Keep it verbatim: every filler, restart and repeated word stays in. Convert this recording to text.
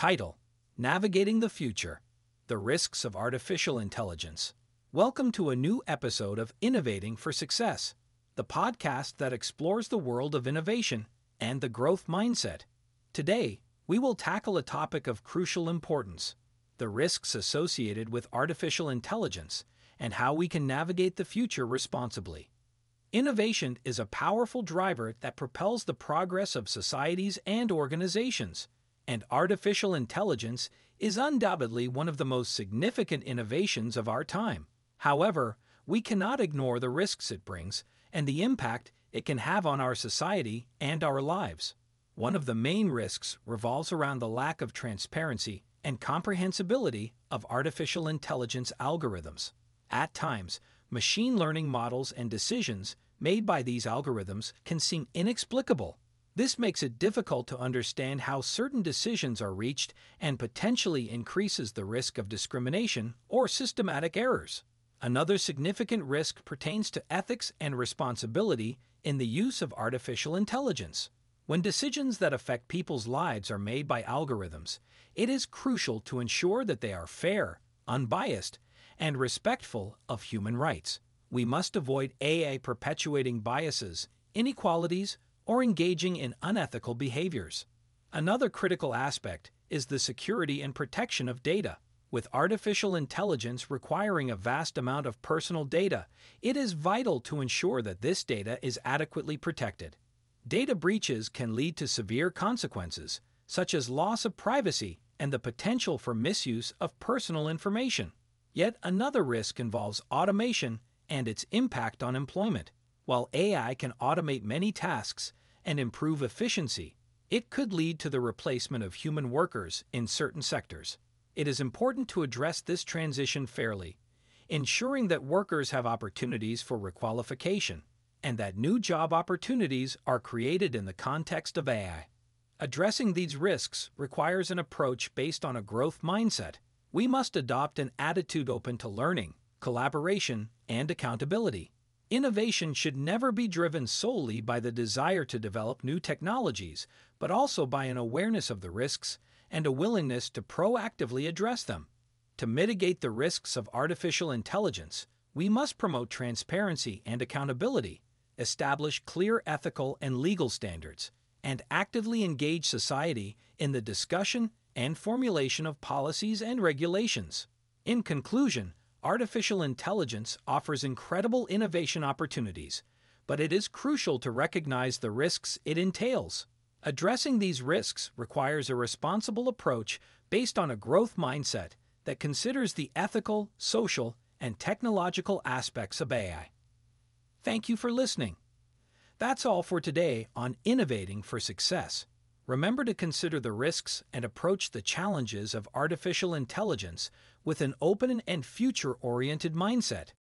Title: Navigating the Future: The Risks of Artificial Intelligence. Welcome to a new episode of Innovating for Success, the podcast that explores the world of innovation and the growth mindset. Today, we will tackle a topic of crucial importance: the risks associated with artificial intelligence and how we can navigate the future responsibly. Innovation is a powerful driver that propels the progress of societies and organizations, and artificial intelligence is undoubtedly one of the most significant innovations of our time. However, we cannot ignore the risks it brings and the impact it can have on our society and our lives. One of the main risks revolves around the lack of transparency and comprehensibility of artificial intelligence algorithms. At times, machine learning models and decisions made by these algorithms can seem inexplicable. This makes it difficult to understand how certain decisions are reached and potentially increases the risk of discrimination or systematic errors. Another significant risk pertains to ethics and responsibility in the use of artificial intelligence. When decisions that affect people's lives are made by algorithms, it is crucial to ensure that they are fair, unbiased, and respectful of human rights. We must avoid A I perpetuating biases, inequalities, or engaging in unethical behaviors. Another critical aspect is the security and protection of data. With artificial intelligence requiring a vast amount of personal data, it is vital to ensure that this data is adequately protected. Data breaches can lead to severe consequences, such as loss of privacy and the potential for misuse of personal information. Yet another risk involves automation and its impact on employment. While A I can automate many tasks and improve efficiency, it could lead to the replacement of human workers in certain sectors. It is important to address this transition fairly, ensuring that workers have opportunities for requalification and that new job opportunities are created in the context of A I. Addressing these risks requires an approach based on a growth mindset. We must adopt an attitude open to learning, collaboration, and accountability. Innovation should never be driven solely by the desire to develop new technologies, but also by an awareness of the risks and a willingness to proactively address them. To mitigate the risks of artificial intelligence, we must promote transparency and accountability, establish clear ethical and legal standards, and actively engage society in the discussion and formulation of policies and regulations. In conclusion, artificial intelligence offers incredible innovation opportunities, but it is crucial to recognize the risks it entails. Addressing these risks requires a responsible approach based on a growth mindset that considers the ethical, social, and technological aspects of A I. Thank you for listening. That's all for today on Innovating for Success. Remember to consider the risks and approach the challenges of artificial intelligence with an open and future-oriented mindset.